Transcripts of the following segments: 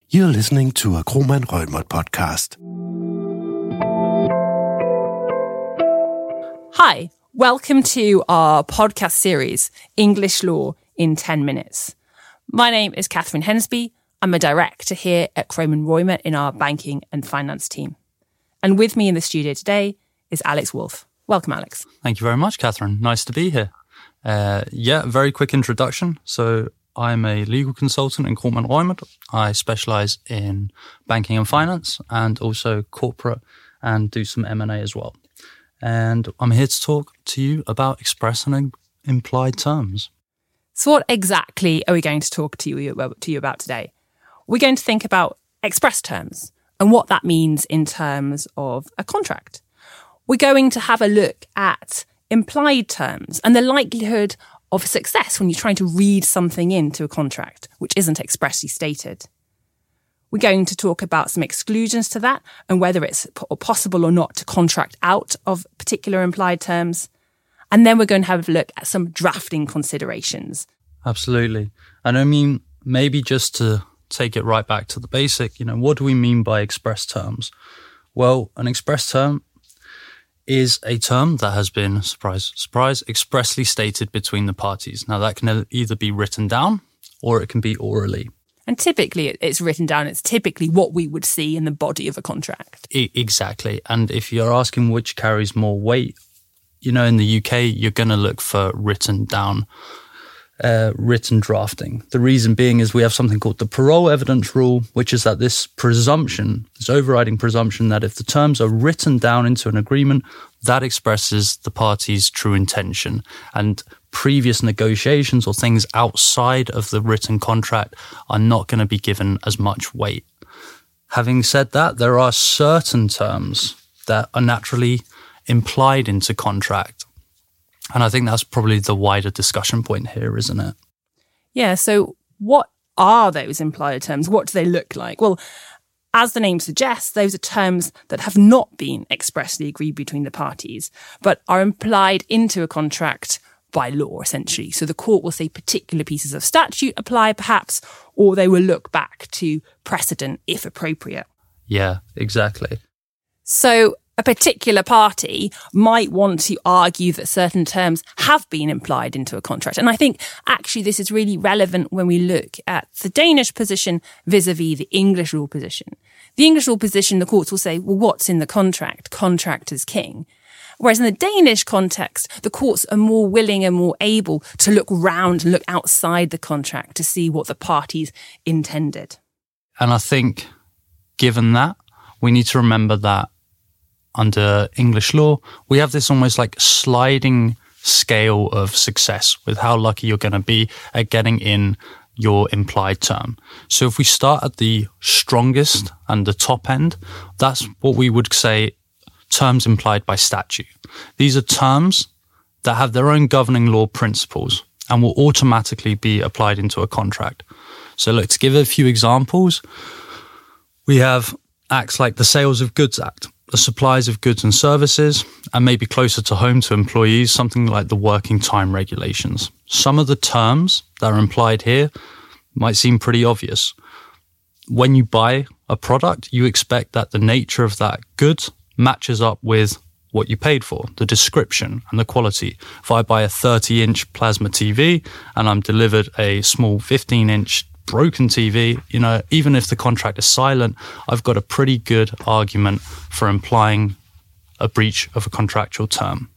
You're listening to a Kromann Reumert podcast. Hi, welcome to our podcast series, English Law in 10 Minutes. My name is Catherine Hensby. I'm a director here at Kromann Reumert in our banking and finance team. And with me in the studio today is Alex Wolf. Welcome, Alex. Thank you very much, Catherine. Nice to be here. Very quick introduction. So I'm a legal consultant in Kromann Reumert. I specialise in banking and finance and also corporate and do some M&A as well. And I'm here to talk to you about express and implied terms. So what exactly are we going to talk to you about today? We're going to think about express terms and what that means in terms of a contract. We're going to have a look at implied terms and the likelihood of success when you're trying to read something into a contract which isn't expressly stated. We're going to talk about some exclusions to that and whether it's possible or not to contract out of particular implied terms. And then we're going to have a look at some drafting considerations. Absolutely. And I mean, maybe just to take it right back to the basic, what do we mean by express terms? Well, an express term is a term that has been, surprise, surprise, expressly stated between the parties. Now, that can either be written down or it can be orally. And typically it's written down. It's typically what we would see in the body of a contract. Exactly. And if you're asking which carries more weight, in the UK, you're going to look for written down, written drafting. The reason being is we have something called the parole evidence rule, which is that this overriding presumption that if the terms are written down into an agreement, that expresses the party's true intention. And previous negotiations or things outside of the written contract are not going to be given as much weight. Having said that, there are certain terms that are naturally implied into contract. And I think that's probably the wider discussion point here, isn't it? Yeah, so what are those implied terms? What do they look like? Well, as the name suggests, those are terms that have not been expressly agreed between the parties, but are implied into a contract by law, essentially. So the court will say particular pieces of statute apply, perhaps, or they will look back to precedent if appropriate. Yeah, exactly. So a particular party might want to argue that certain terms have been implied into a contract. And I think actually this is really relevant when we look at the Danish position vis-a-vis the English rule position. The English rule position, the courts will say, well, what's in the contract? Contract is king. Whereas in the Danish context, the courts are more willing and more able to look round and look outside the contract to see what the parties intended. And I think given that, we need to remember that under English law, we have this almost like sliding scale of success with how lucky you're going to be at getting in your implied term. So if we start at the strongest and the top end, that's what we would say terms implied by statute. These are terms that have their own governing law principles and will automatically be applied into a contract. So let's give a few examples. We have acts like the Sales of Goods Act, the supplies of goods and services, and maybe closer to home to employees, something like the working time regulations. Some of the terms that are implied here might seem pretty obvious. When you buy a product, you expect that the nature of that good matches up with what you paid for, the description and the quality. If I buy a 30-inch plasma TV and I'm delivered a small 15-inch broken TV, even if the contract is silent, I've got a pretty good argument for implying a breach of a contractual term.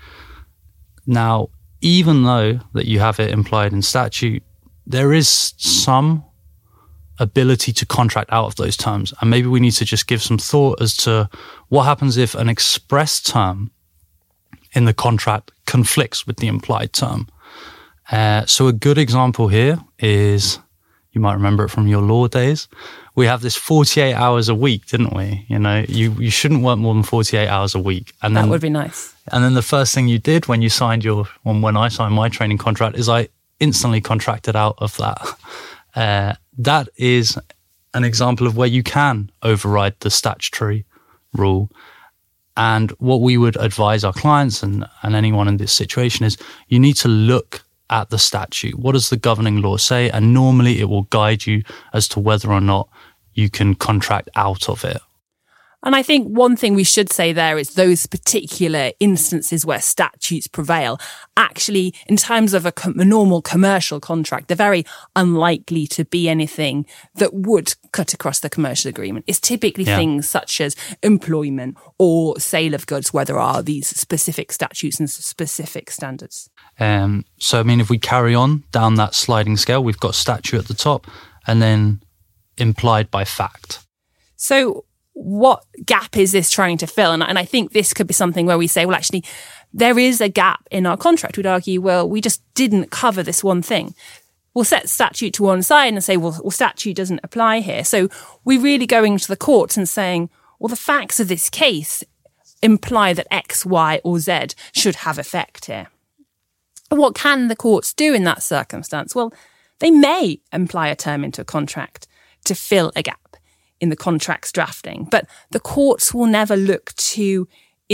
Now, even though that you have it implied in statute, there is some ability to contract out of those terms. And maybe we need to just give some thought as to what happens if an express term in the contract conflicts with the implied term. So a good example here is, you might remember it from your law days. We have this 48 hours a week, didn't we? You shouldn't work more than 48 hours a week. And then, that would be nice. And then the first thing you did when I signed my training contract is I instantly contracted out of that. That is an example of where you can override the statutory rule. And what we would advise our clients and anyone in this situation is you need to look at the statute. What does the governing law say? And normally it will guide you as to whether or not you can contract out of it. And I think one thing we should say there is those particular instances where statutes prevail, actually, in terms of a normal commercial contract, they're very unlikely to be anything that would cut across the commercial agreement. It's typically things such as employment or sale of goods, where there are these specific statutes and specific standards. So, I mean, if we carry on down that sliding scale, we've got statute at the top and then implied by fact. So what gap is this trying to fill? And I think this could be something where we say, well, actually, there is a gap in our contract. We'd argue, well, we just didn't cover this one thing. We'll set statute to one side and say, well, statute doesn't apply here. So we're really going to the courts and saying, well, the facts of this case imply that X, Y, or Z should have effect here. But what can the courts do in that circumstance? Well, they may imply a term into a contract to fill a gap in the contract's drafting, but the courts will never look to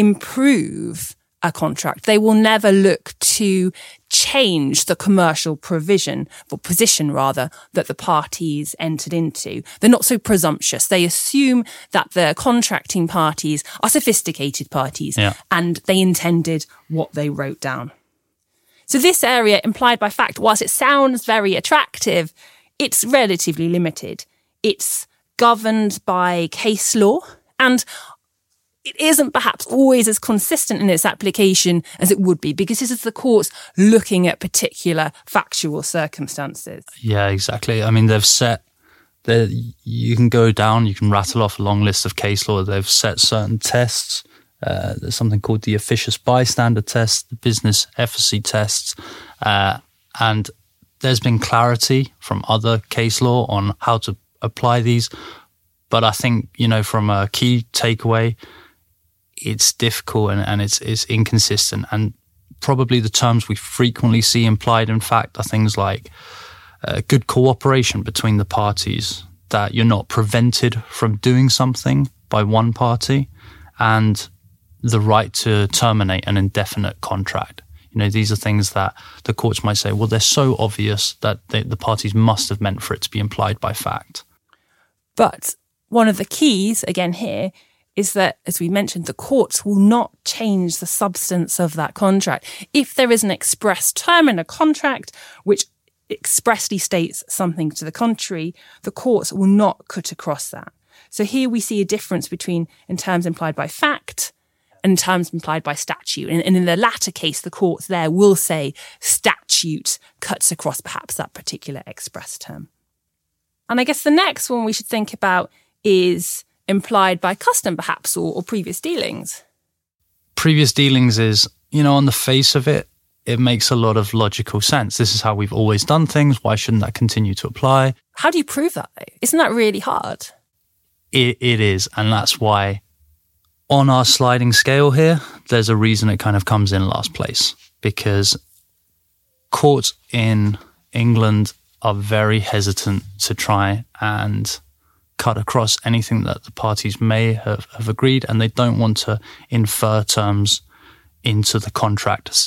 improve a contract. They will never look to change the commercial provision, or position rather, that the parties entered into. They're not so presumptuous. They assume that the contracting parties are sophisticated parties and they intended what they wrote down. So this area, implied by fact, whilst it sounds very attractive, it's relatively limited. It's governed by case law, and it isn't perhaps always as consistent in its application as it would be, because this is the courts looking at particular factual circumstances. Yeah, exactly. I mean, they've set, you can go down, you can rattle off a long list of case law. They've set certain tests. There's something called the officious bystander test, the business efficacy tests, and there's been clarity from other case law on how to apply these. But I think, from a key takeaway, it's difficult and it's inconsistent. And probably the terms we frequently see implied in fact are things like good cooperation between the parties, that you're not prevented from doing something by one party, and the right to terminate an indefinite contract. These are things that the courts might say, well, they're so obvious that the parties must have meant for it to be implied by fact. But one of the keys, again here, is that, as we mentioned, the courts will not change the substance of that contract. If there is an express term in a contract which expressly states something to the contrary, the courts will not cut across that. So here we see a difference between in terms implied by fact and terms implied by statute. And in the latter case, the courts there will say statute cuts across perhaps that particular express term. And I guess the next one we should think about is implied by custom, perhaps, or previous dealings. Previous dealings is, on the face of it, it makes a lot of logical sense. This is how we've always done things. Why shouldn't that continue to apply? How do you prove that, though? Isn't that really hard? It is, and that's why on our sliding scale here, there's a reason it kind of comes in last place, because courts in England are very hesitant to try and cut across anything that the parties may have agreed, and they don't want to infer terms into the contract.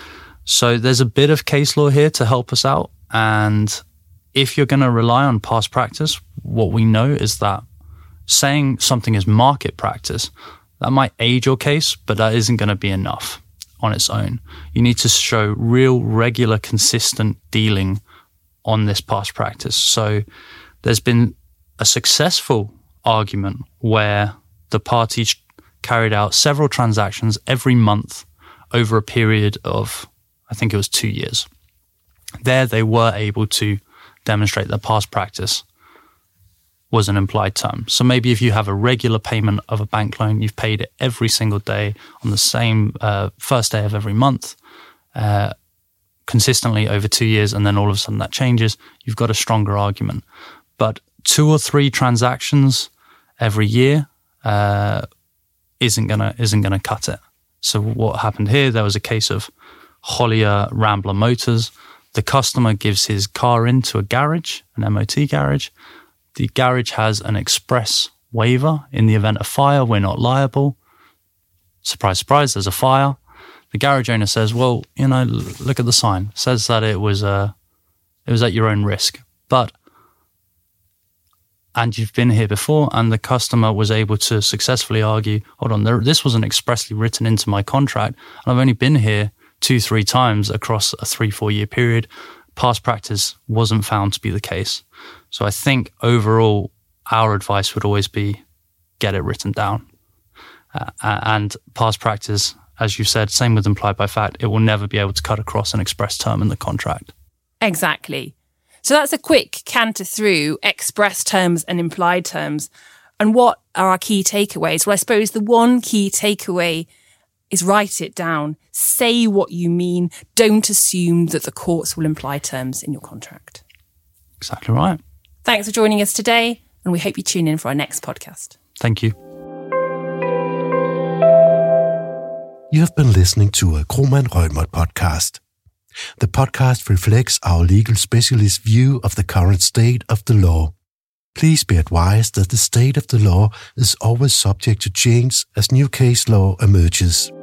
So there's a bit of case law here to help us out, and if you're going to rely on past practice, what we know is that saying something is market practice, that might aid your case, but that isn't going to be enough on its own. You need to show real, regular, consistent dealing on this past practice. So there's been a successful argument where the parties carried out several transactions every month over a period of, I think it was 2 years. There they were able to demonstrate that past practice was an implied term. So maybe if you have a regular payment of a bank loan, you've paid it every single day on the same first day of every month, consistently over 2 years, and then all of a sudden that changes, you've got a stronger argument. But 2 or 3 transactions every year isn't gonna cut it. So what happened here? There was a case of Hollier Rambler Motors. The customer gives his car into a garage, an MOT garage. The garage has an express waiver in the event of fire. We're not liable. Surprise, surprise, there's a fire. The garage owner says, well, look at the sign. It says that it was at your own risk. But and you've been here before, and the customer was able to successfully argue, hold on, this wasn't expressly written into my contract, and I've only been here 2-3 times across a 3-4 year period. Past practice wasn't found to be the case. So I think overall, our advice would always be get it written down. And past practice, as you said, same with implied by fact, it will never be able to cut across an express term in the contract. Exactly. So that's a quick canter through express terms and implied terms. And what are our key takeaways? Well, I suppose the one key takeaway is write it down. Say what you mean. Don't assume that the courts will imply terms in your contract. Exactly right. Thanks for joining us today, and we hope you tune in for our next podcast. Thank you. You have been listening to a Kromann Reumert podcast. The podcast reflects our legal specialist view of the current state of the law. Please be advised that the state of the law is always subject to change as new case law emerges.